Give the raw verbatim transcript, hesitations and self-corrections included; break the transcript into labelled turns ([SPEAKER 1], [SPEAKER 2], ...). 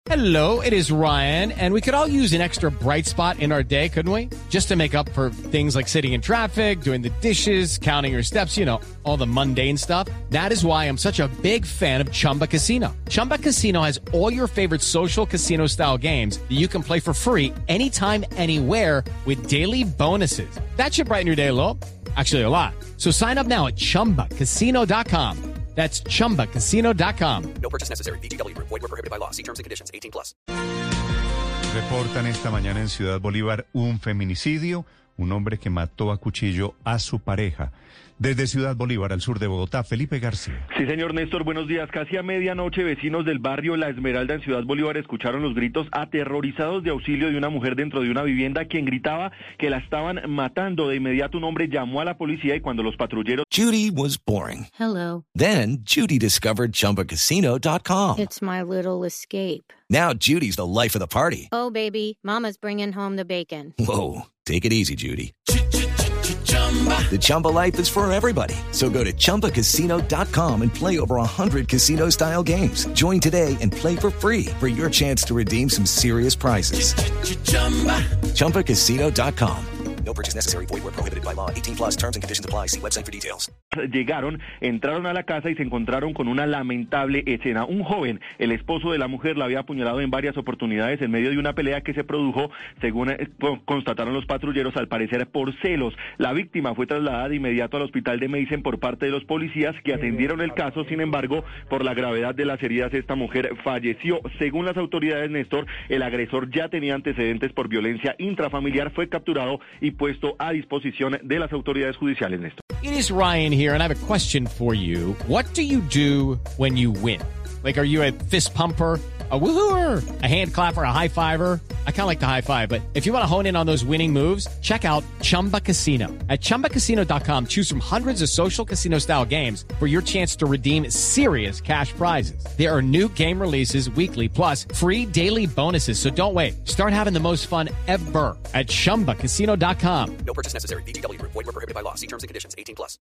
[SPEAKER 1] Hello, it is Ryan, and we could all use an extra bright spot in our day, couldn't we? Just to make up for things like sitting in traffic, doing the dishes, counting your steps, you know, all the mundane stuff. That is why I'm such a big fan of Chumba Casino. Chumba Casino has all your favorite social casino-style games that you can play for free anytime, anywhere with daily bonuses. That should brighten your day a little. Actually, a lot. So sign up now at chumba casino dot com. That's chumba casino dot com.
[SPEAKER 2] No purchase necessary. V G W Group. Void where prohibited by law. See terms and conditions. eighteen plus.
[SPEAKER 3] Reportan esta mañana en Ciudad Bolívar un feminicidio, un hombre que mató a cuchillo a su pareja. Desde Ciudad Bolívar, al sur de Bogotá, Felipe García.
[SPEAKER 4] Sí, señor Néstor, buenos días. Casi a medianoche, vecinos del barrio La Esmeralda en Ciudad Bolívar escucharon los gritos aterrorizados de auxilio de una mujer dentro de una vivienda, quien gritaba que la estaban matando. De inmediato un hombre llamó a la policía y cuando los patrulleros...
[SPEAKER 5] Judy was boring.
[SPEAKER 6] Hello.
[SPEAKER 5] Then Judy discovered Chumba Casino dot com.
[SPEAKER 6] It's my little escape.
[SPEAKER 5] Now Judy's the life of the party.
[SPEAKER 6] Oh, baby, mama's bringing home the bacon.
[SPEAKER 5] Whoa, take it easy, Judy. The Chumba life is for everybody. So go to Chumba Casino dot com and play over one hundred casino-style games. Join today and play for free for your chance to redeem some serious prizes. Chumba Casino dot com.
[SPEAKER 2] No purchase necessary. Void where prohibited by law. eighteen plus terms and conditions apply. See website for details.
[SPEAKER 4] Llegaron, entraron a la casa y se encontraron con una lamentable escena. Un joven, el esposo de la mujer, la había apuñalado en varias oportunidades en medio de una pelea que se produjo, según eh, constataron los patrulleros, al parecer por celos. La víctima fue trasladada de inmediato al hospital de Meisen por parte de los policías que atendieron el caso. Sin embargo, por la gravedad de las heridas, esta mujer falleció. Según las autoridades, Néstor, el agresor ya tenía antecedentes por violencia intrafamiliar, fue capturado y puesto a disposición de las autoridades judiciales, Néstor.
[SPEAKER 1] It is Ryan here, and I have a question for you. What do you do when you win? Like, are you a fist pumper, a woohooer, a hand clapper, a high fiver? I kind of like the high five, but if you want to hone in on those winning moves, check out Chumba Casino. At chumba casino dot com, choose from hundreds of social casino-style games for your chance to redeem serious cash prizes. There are new game releases weekly, plus free daily bonuses, so don't wait. Start having the most fun ever at chumba casino dot com.
[SPEAKER 2] No purchase necessary. V G W Group. Void where prohibited by law. See terms and conditions. eighteen plus.